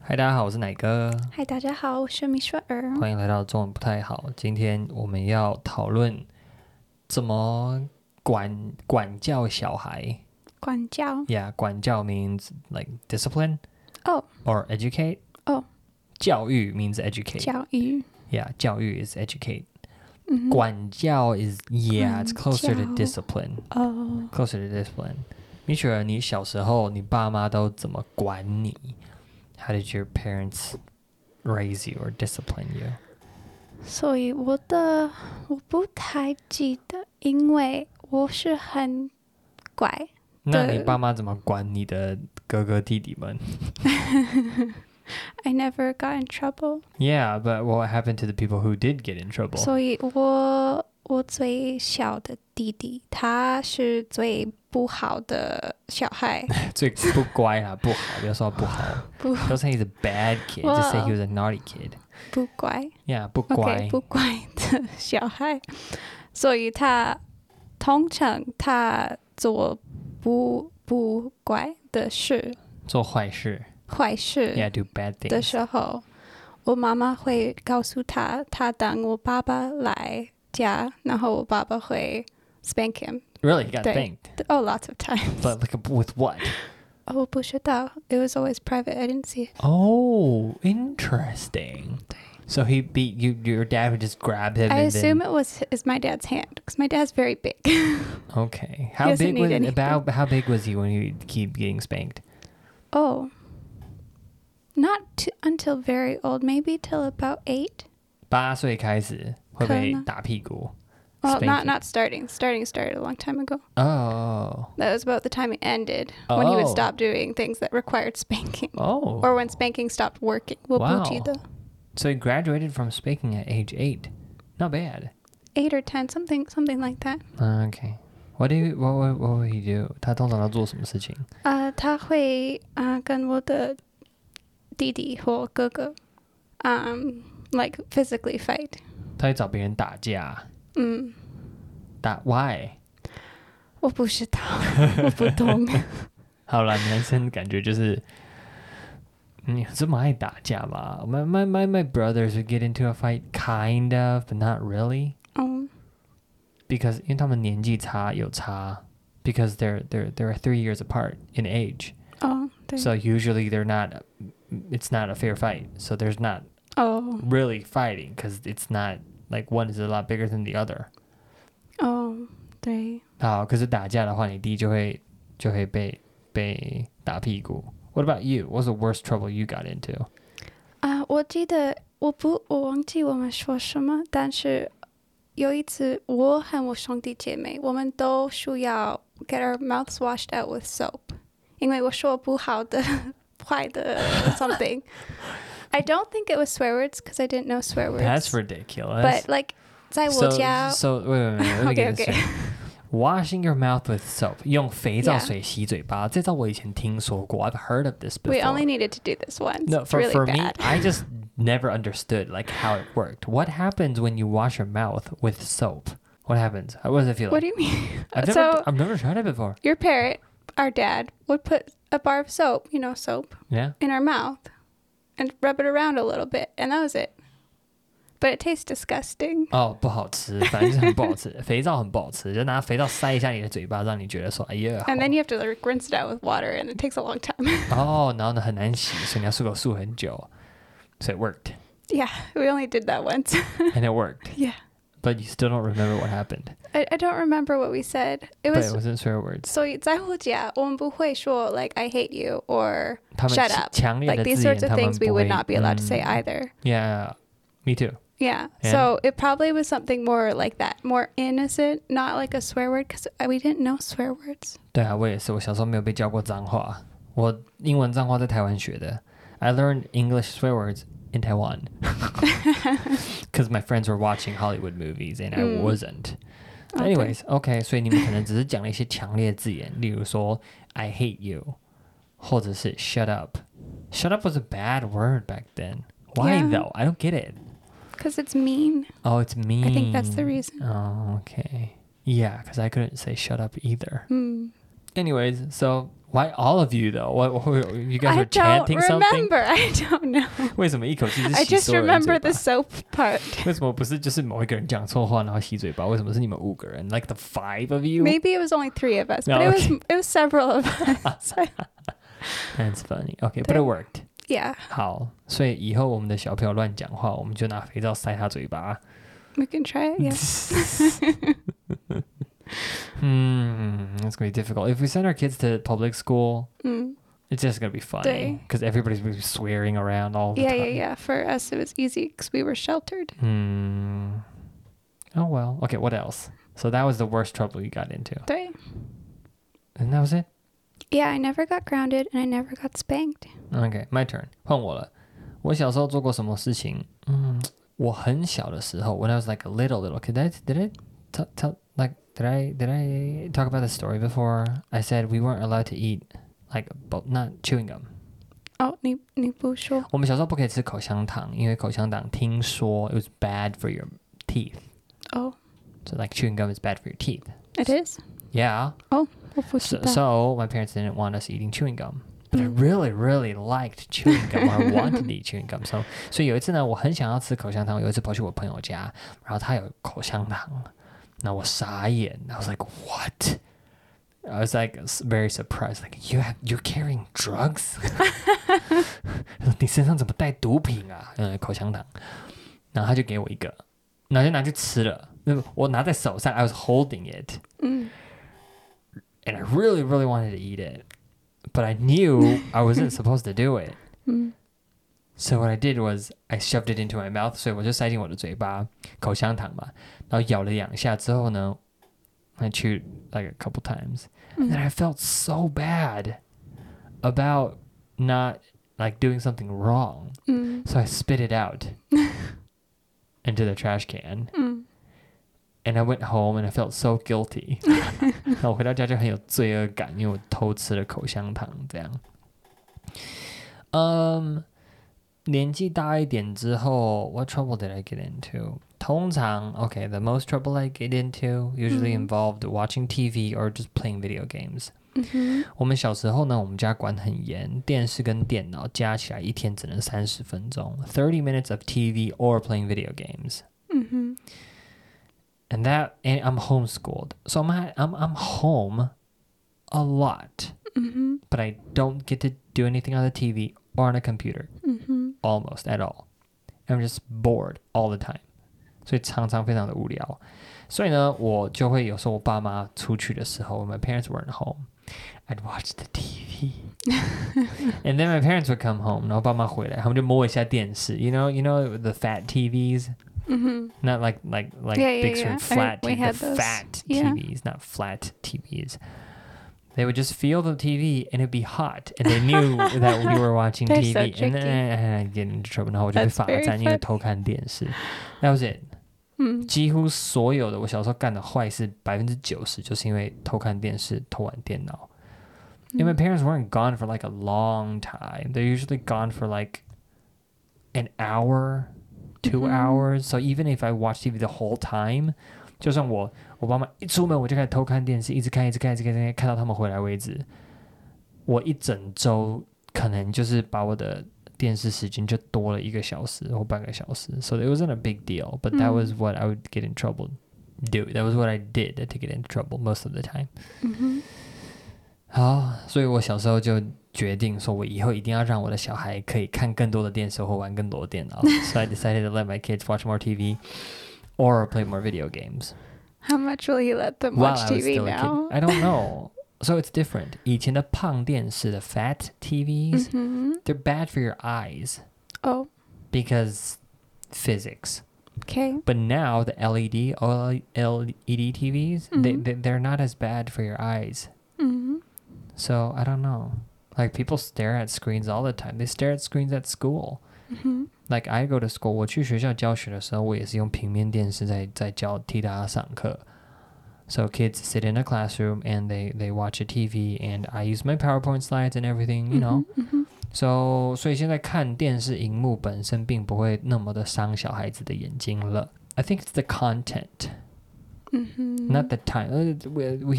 嗨，大家好，我是奶哥。 嗨，大家好，我是米雪兒。 歡迎來到中文不太好。今天我們要討論怎麼管教小孩。 管教 Yeah, 管教 means like discipline. Oh. Or educate. Oh. 教育 means educate. 教育 Yeah, 教育 is educate. Mm-hmm. 管教 is, yeah, it's closer to discipline. Oh. Closer to discipline. 米雪兒，你小時候你爸媽都怎麼管你？How did your parents raise you or discipline you? 所以我不太記得，因為我是很乖。 那你爸媽怎麼管你的哥哥弟弟們 ？I never got in trouble. Yeah, but what happened to the people who did get in trouble? 所以我最小的弟弟，他是最不好的小孩。 最不乖啦，不好，不要說不好。Don't say he's a bad kid, just say he was a naughty kid. 不乖。 Yeah, 不乖。 Okay, 不乖的小孩，所以通常他做不乖的事， 做壞事。Yeah, do bad things. 的時候，我媽媽會告訴他等我爸爸來家，然後我爸爸會 spank him. Really? You got spanked? Oh, lots of times. But like with what? 我不知道. It was always private. I didn't see it. Oh, interesting. So he beat you, your dad would just grab him I and assume then... it was my dad's hand, because my dad's very big. Okay. How big was he when he keep getting spanked? Oh. Not until very old, maybe till about 8. 8歲開始會被打屁股。 Well, not starting. Starting started a long time ago. Oh. That was about the time it ended, when he would stop doing things that required spanking. Oh. Or when spanking stopped working. Wow. So he graduated from spanking at age 8. Not bad. 8 or 10, something like that. Okay. What would he do? 他通常要做什麼事情？ 他會跟我的弟弟或哥哥like physically fight. 他會找別人打架。打 Why? 我不知道，我不懂。 好啦，男生感覺就是你有這麼愛打架嗎？ My brothers would get into a fight, kind of, but not really. Because 因為他們年紀有差 because they're 3 years apart in age. So usually it's not a fair fight. So there's not really fighting because it's not like one is a lot bigger than the other. 對。 好，可是打架的話，你弟就會被打屁股。What about you? What's the worst trouble you got into? 我記得我忘記我們說什麼，但是有一次我和我兄弟姐妹，我們都需要 get our mouths washed out with soap， 因為我說不好的壞的 something. I don't think it was swear words because I didn't know swear words. That's ridiculous. But like 在我家 So wait, let me get this straight. Washing your mouth with soap. 用肥皂水洗嘴巴。這招我以前聽說過。I've heard of this before. We only needed to do this once. No, it's really for bad. me, I just never understood like how it worked. What happens when you wash your mouth with soap? What happens? What does it feel like? What do you mean? I've never tried it before. Your parent, our dad, would put a bar of soap, soap, Yeah. in our mouth and rub it around a little bit, and that was it. But it tastes disgusting. 不好吃，反正就是很不好吃。肥皂很不好吃，就拿肥皂塞一下你的嘴巴，讓你覺得說，哎呀。 And then you have to like rinse it out with water, and it takes a long time. 然後呢很難洗，所以你要漱很久。So it worked. Yeah, we only did that once. And it worked. Yeah. But you still don't remember what happened. I don't remember what we said. But it wasn't swear words. 所以在我家，我們不會說 like I hate you or 他們 shut up. 強烈的 Like these 字眼 sorts of things we would not be allowed to say either. Yeah, me too. Yeah. So it probably was something more like that, more innocent, not like a swear word, because we didn't know swear words. 對啊，我也是，我小時候沒有被教過髒話，我英文髒話在台灣學的。I learned English swear words in Taiwan because my friends were watching Hollywood movies and I wasn't. Anyways, okay, 所以你們可能只是講了一些強烈的字眼，例如說 I hate you， 或者是 shut up. Shut up was a bad word back then. Why though? I don't get it. Because it's mean. Oh, it's mean. I think that's the reason. Oh, okay. Yeah, because I couldn't say shut up either. Anyways, so Why all of you though? What you guys were chanting something? I don't know. 为什麼一口氣是洗 I just 所有人嘴巴 remember the soap part. 為什麼不是就是某一個人講錯話然後洗嘴巴？為什麼是你們5個人 ？Like the 5 of you? Maybe it was only 3 of us, No, but okay. it was several of us. That's funny. Okay, but it worked. Yeah. 好，所以以後我們的小朋友亂講話，我們就拿肥皂塞他嘴巴。 We can try it, yeah. It's going to be difficult. If we send our kids to public school, it's just going to be funny because everybody's going to be swearing around all the time. Yeah. For us, it was easy because we were sheltered. Oh, well. Okay, what else? So that was the worst trouble you got into. 对 And that was it? Yeah, I never got grounded and I never got spanked. Okay, my turn. 換我了。我小時候做過什麼事情？我很小的時候 when I was like a little kid, did I talk about the story before? I said we weren't allowed to eat like not chewing gum. 哦，你不說？ 我們小時候不可以吃口香糖，因為口香糖聽說 it was bad for your teeth. Oh. So like chewing gum is bad for your teeth. It is? Yeah. Oh, 我不知道。 So my parents didn't want us eating chewing gum. But I really liked chewing gum or wanted to eat chewing gum. So 所以有一次呢，我很想要吃口香糖，有一次跑去我朋友家，然後他有口香糖，那我傻眼 I was like, what? I was like very surprised, like you're carrying drugs? 你身上怎麼帶毒品啊？口香糖，然後他就給我一個，然後就拿去吃了。我拿在手上 I was holding it. And I really wanted to eat it. But I knew I wasn't supposed to do it. So what I did was I shoved it into my mouth. 所以我就塞進我的嘴巴，口香糖嘛，然後咬了2下之後呢 I chewed like a couple times. And then I felt so bad about not like doing something wrong. So I spit it out into the trash can. And I went home and I felt so guilty. 然後我回到家就很有罪惡感，因為我偷吃了口香糖這樣。年紀大一點之後 what trouble did I get into? 通常 okay, the most trouble I get into usually involved watching TV or just playing video games. 我們小時候呢，我們家管很嚴，電視跟電腦加起來一天只能30分鐘 30 minutes of TV or playing video games. And I'm homeschooled. So I'm home a lot. But I don't get to do anything on the TV or on a computer. Almost at all. I'm just bored all the time. 所以常常非常的无聊。所以呢，我就會有時候我爸媽出去的時候 my parents weren't home, I'd watch the TV. And then my parents would come home. 然後爸媽回來，他們就摸一下電視。You know the fat TVs? Not like big screen flat TVs, the fat TVs, not flat TVs. They would just feel the TV and it'd be hot, and they knew that we were watching TV. So and then I'd get into trouble. 然後我就被罰站，因為偷看電視。That was it. 幾乎所有的我小時候幹的壞事90%就是因為偷看電視、偷玩電腦。And my parents weren't gone for like a long time. They're usually gone for like an hour, 2 hours. So even if I watch TV the whole time, 就算我爸媽一出門我就開始偷看電視，一直看看到他們回來為止。我一整週可能就是把我的電視時間就多了1個小時或半個小時。So it wasn't a big deal, but that was what I would get in trouble do. That was what I did to get into trouble most of the time. 好，所以我小時候就決定說我以後一定要讓我的小孩可以看更多的電視或玩更多的電腦。So I decided to let my kids watch more TV or play more video games. How much will you let them watch TV now? I don't know. So it's different. 以前的胖電視 the fat TVs, they're bad for your eyes. Oh. Because physics. Okay. But now the LED TVs, they're not as bad for your eyes. So I don't know. Like people stare at screens all the time. They stare at screens at school. Like I go to school, 我去學校教學的時候，我也是用平面電視在替大家上課。So kids sit in a classroom and they watch a TV and I use my PowerPoint slides and everything, you know. So 所以現在看電視螢幕本身並不會那麼的傷小孩子的眼睛了。I think it's the content. Not the time. We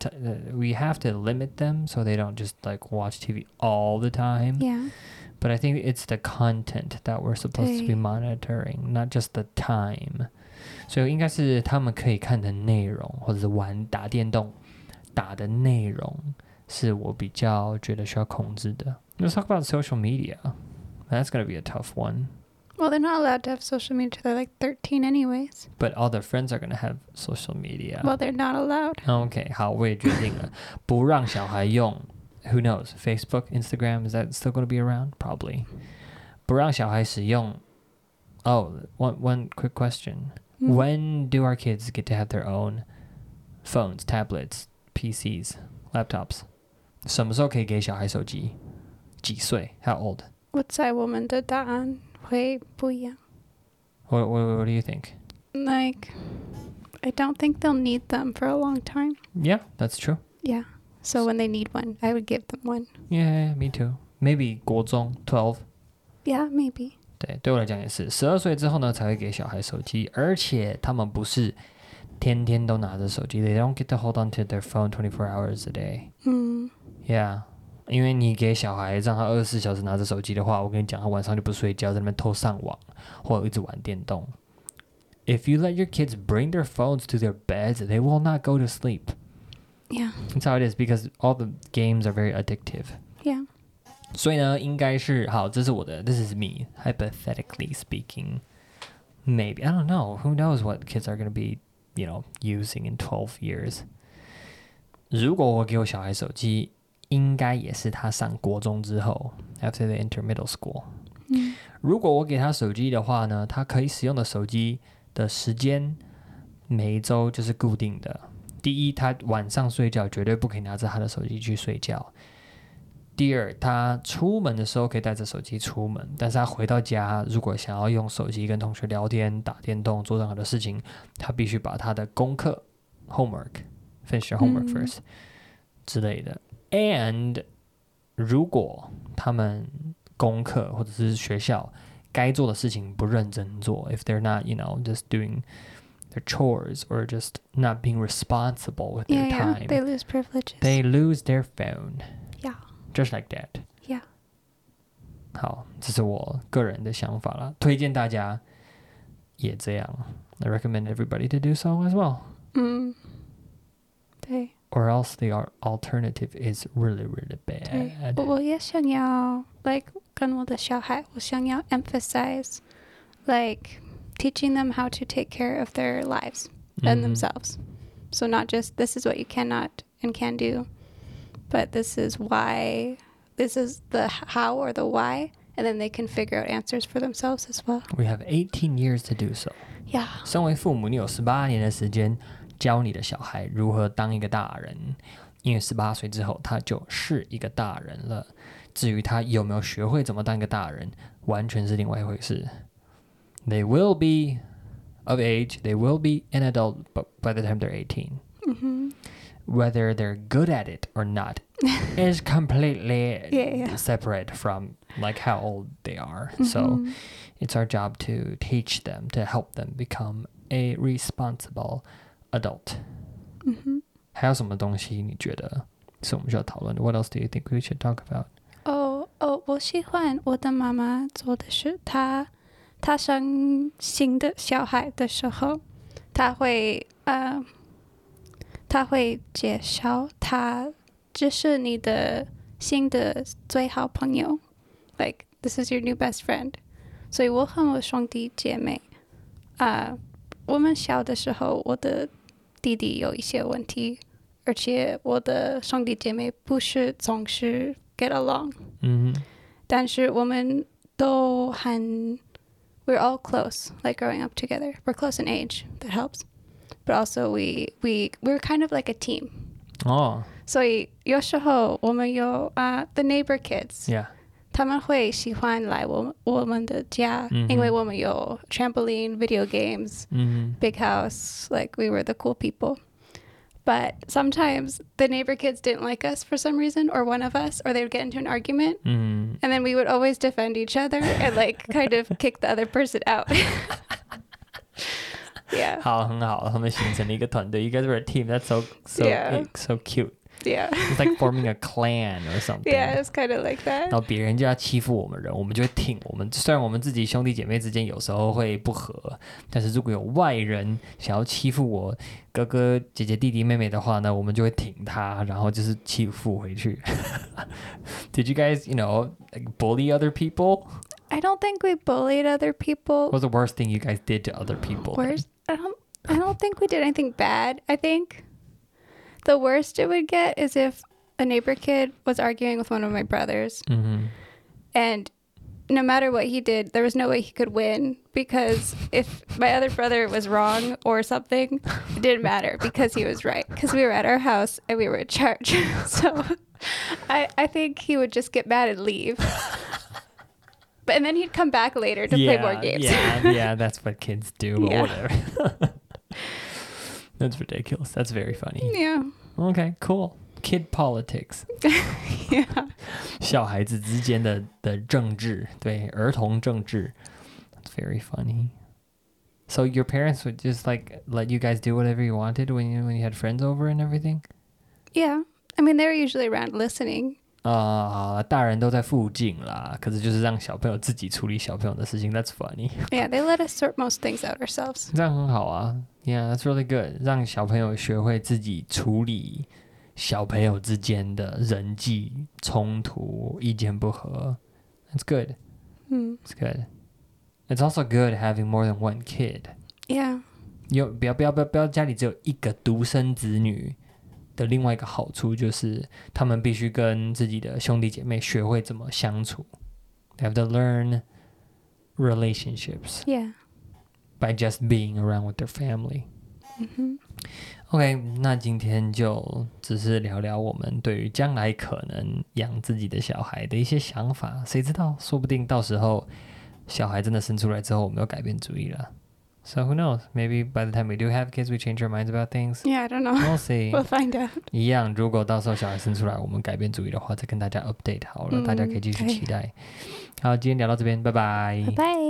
have to limit them so they don't just like watch TV all the time. Yeah. But I think it's the content that we're supposed to be monitoring, not just the time. 所以应该是他们可以看的内容，或者是打電動打的內容，是我比較覺得需要控制的。Let's talk about social media. That's going to be a tough one. Well, they're not allowed to have social media till they're like 13 anyways. But all their friends are going to have social media. Well, they're not allowed. Okay, 好，我也決定了，不讓小孩用。Who knows? Facebook, Instagram, is that still going to be around? Probably. 不讓小孩使用。Oh, one quick question. When do our kids get to have their own phones, tablets, PCs, laptops? 什麼時候可以給小孩手機？幾歲？ How old? 我猜我們的答案會不一樣。 What do you think? Like, I don't think they'll need them for a long time. Yeah, that's true. Yeah. So when they need one, I would give them one. Yeah, me too. Maybe 國中 12. Yeah, maybe. 对我來講也是12歲之後呢才會給小孩手機，而且他們不是天天都拿着手機。They don't get to hold on to their phone 24 hours a day. Yeah. 因為你給小孩讓他24小時拿着手機的話，我跟你講，他晚上就不睡覺，在那邊偷上網或者一直玩電動。If you let your kids bring their phones to their beds, they will not go to sleep. Yeah. That's how it is because all the games are very addictive. Yeah. 所以呢，應該是好，這是我的 This is me, hypothetically speaking. Maybe. I don't know. Who knows what kids are going to be, using in 12 years. 如果我給我小孩手機，應該也是他上國中之後 after they enter middle school. 如果我給他手機的話呢，他可以使用的手機的時間每一週就是固定的。第一，他晚上睡覺絕對不可以拿着他的手機去睡覺。第二，他出門的時候可以帶着手機出門，但是他回到家，如果想要用手機跟同學聊天、打電動、做任何的事情，他必須把他的功課 finish your homework first 之類的。And 如果他們功課或者是學校該做的事情不認真做 if they're not, just doing their chores or just not being responsible with their time, they lose privileges. They lose their phone. Yeah. Just like that. Yeah. 好，這是我個人的想法啦，推薦大家也這樣。I recommend everybody to do so as well. 對。 Or else the alternative is really, really bad. 我也想要 跟我的小孩，我想要 emphasize teaching them how to take care of their lives and themselves. So not just this is what you cannot and can do, but this is why, this is the how or the why, and then they can figure out answers for themselves as well. We have 18 years to do so. Yeah. 身為父母，你有18年的時間教你的小孩如何當一個大人，因為18歲之後他就是一個大人了。至於他有沒有學會怎麼當一個大人，完全是另外一回事。They will be of age, they will be an adult by the time they're 18. Whether they're good at it or not is completely separate from how old they are. So it's our job to teach them, to help them become a responsible adult. 還有什麼東西你覺得是我們需要討論的？ What else do you think we should talk about? 我喜歡我的媽媽做的是她生新的小孩的時候，她會介紹他這是你的新的最好朋友 this is your new best friend. 所以我和我兄弟姐妹我們小的時候，我的弟弟有一些問題，而且我的兄弟姐妹不是總是 get along. 但是我們都很we're all close, growing up together. We're close in age. That helps. But also we're kind of like a team. Oh. 所以有時候我們有the neighbor kids. Yeah. 他們會喜歡來我們的家，因為我們有 trampoline, video games, big house, we were the cool people. But sometimes the neighbor kids didn't like us for some reason, or one of us, or they would get into an argument, and then we would always defend each other and kind of kick the other person out. Yeah. 好，很好，他們形成了一個團隊。You guys were a team. That's so cute. Yeah. It's like forming a clan or something. Yeah, it's kind of like that. 然後別人就要欺負我們人，我們就會挺我們。雖然我們自己兄弟姐妹之間有時候會不和，但是如果有外人想要欺負我哥哥姐姐弟弟妹妹的話呢，我們就會挺他，然後就是欺負回去。Did you guys, like bully other people? I don't think we bullied other people. What was the worst thing you guys did to other people? Worst? I don't think we did anything bad. I think the worst it would get is if a neighbor kid was arguing with one of my brothers. Mm-hmm. And no matter what he did, there was no way he could win, because if my other brother was wrong or something, it didn't matter because he was right, because we were at our house and we were in charge. So I think he would just get mad and leave. And then he'd come back later to play more games. Yeah, that's what kids do, but Yeah. whatever. That's ridiculous. That's very funny. Yeah. Okay, cool. Kid politics. Yeah. 小孩子之間的政治，对，兒童政治。That's very funny. So your parents would just like let you guys do whatever you wanted when you had friends over and everything? Yeah. I mean, they're usually around listening. 大人都在附近啦，可是就是讓小朋友自己處理小朋友的事情。That's funny. Yeah, they let us sort most things out ourselves. 這樣很好啊。Yeah, that's really good. 讓小朋友學會自己處理小朋友之間的人際衝突、意見不合。That's good. It's good. It's also good having more than one kid. Yeah. 不要家裡只有一個獨生子女的另外一個好處就是他們必須跟自己的兄弟姐妹學會怎麼相處。They have to learn relationships. Yeah. By just being around with their family. OK, 那今天就只是聊聊我們對於將來可能養自己的小孩的一些想法。誰知道，說不定到時候小孩真的生出來之後，我們又改變主意了。So who knows? Maybe by the time we do have kids, we change our minds about things. Yeah, I don't know. We'll see. We'll find out. 一樣，如果到時候小孩生出來，我們改變主意的話，再跟大家 update 好了，大家可以繼續期待。好，今天聊到這邊，拜拜。 拜拜。